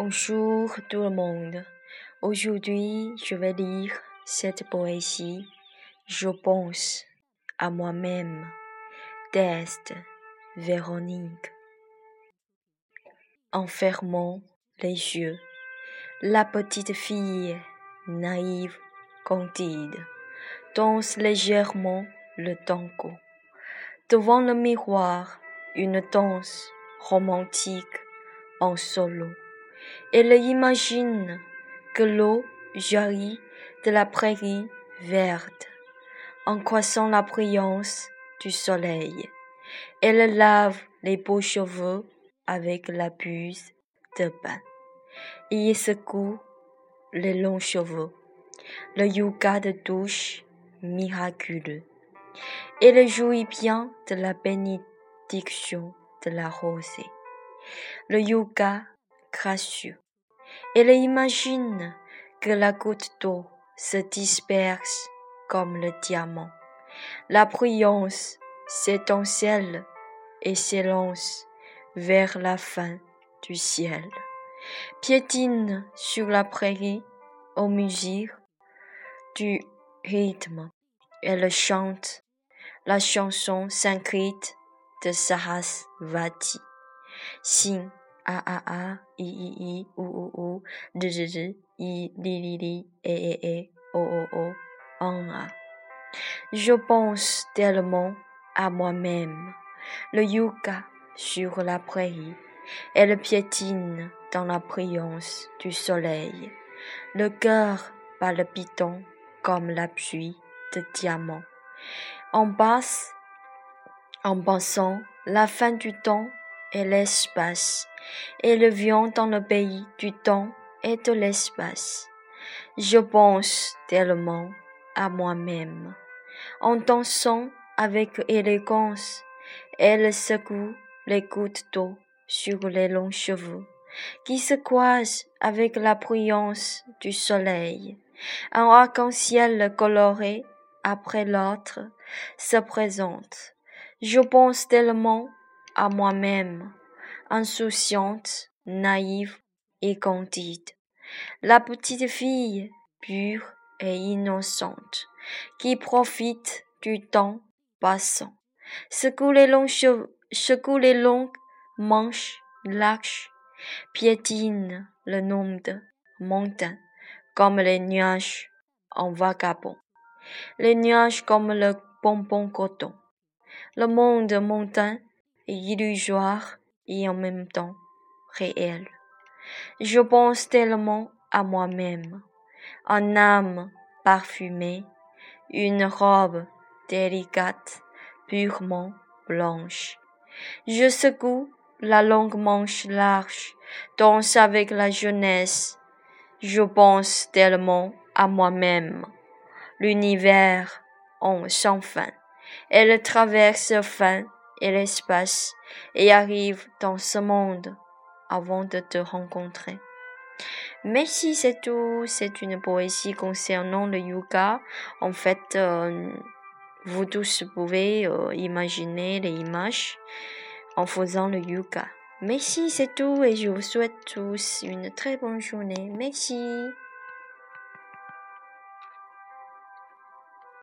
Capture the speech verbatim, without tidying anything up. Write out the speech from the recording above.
Bonjour tout le monde. Aujourd'hui, je vais lire cette poésie. Je pense à moi-même. D'Est, Véronique. En fermant les yeux, la petite fille, naïve, candide, danse légèrement le tango. Devant le miroir, une danse romantique en solo. Elle imagine que l'eau jaillit de la prairie verte en croissant la brillance du soleil. Elle lave les beaux cheveux avec la buse de bain et secoue les longs cheveux. Le yoga de douche miraculeux. Elle jouit bien de la bénédiction de la rosée. Le yoga gracieux. Elle imagine que la goutte d'eau se disperse comme le diamant. La brillance s'étincelle et s'élance vers la fin du ciel. Piétine sur la prairie aux musiques du rythme. Elle chante la chanson sanskrit de Sarasvati. Sing a a a, i i i, u u u, z z z, i li li li, e e e, o o o, en a. Je pense tellement à moi-même. Le yoga sur la prairie, elle piétine dans la brillance du soleil. Le cœur palpitant comme la pluie de diamants. En basse, en pensant la fin du temps et l'espace, et le vient dans le pays du temps et de l'espace. Je pense tellement à moi-même. En dansant avec élégance, elle secoue les gouttes d'eau sur les longs cheveux, qui se croisent avec la brillance du soleil. Un arc-en-ciel coloré, après l'autre, se présente. Je pense tellement à moi-même, insouciante, naïve et candide. La petite fille, pure et innocente, qui profite du temps passant, secoue les longs cheveux, secoue les longues manches larges, piétine le nombre de montagnes comme les nuages en vagabond, les nuages comme le bonbon coton. Le monde montagne est illusoire et en même temps réel. Je pense tellement à moi-même, une âme parfumée, une robe délicate, purement blanche. Je secoue la longue manche large, danse avec la jeunesse. Je pense tellement à moi-même, l'univers en sans fin. Elle traverse le fin et l'espace et arrive dans ce monde avant de te rencontrer. Merci, c'est tout. C'est une poésie concernant le yoga. En fait, euh, vous tous pouvez euh, imaginer les images en faisant le yoga. Merci, c'est tout et je vous souhaite tous une très bonne journée. Merci.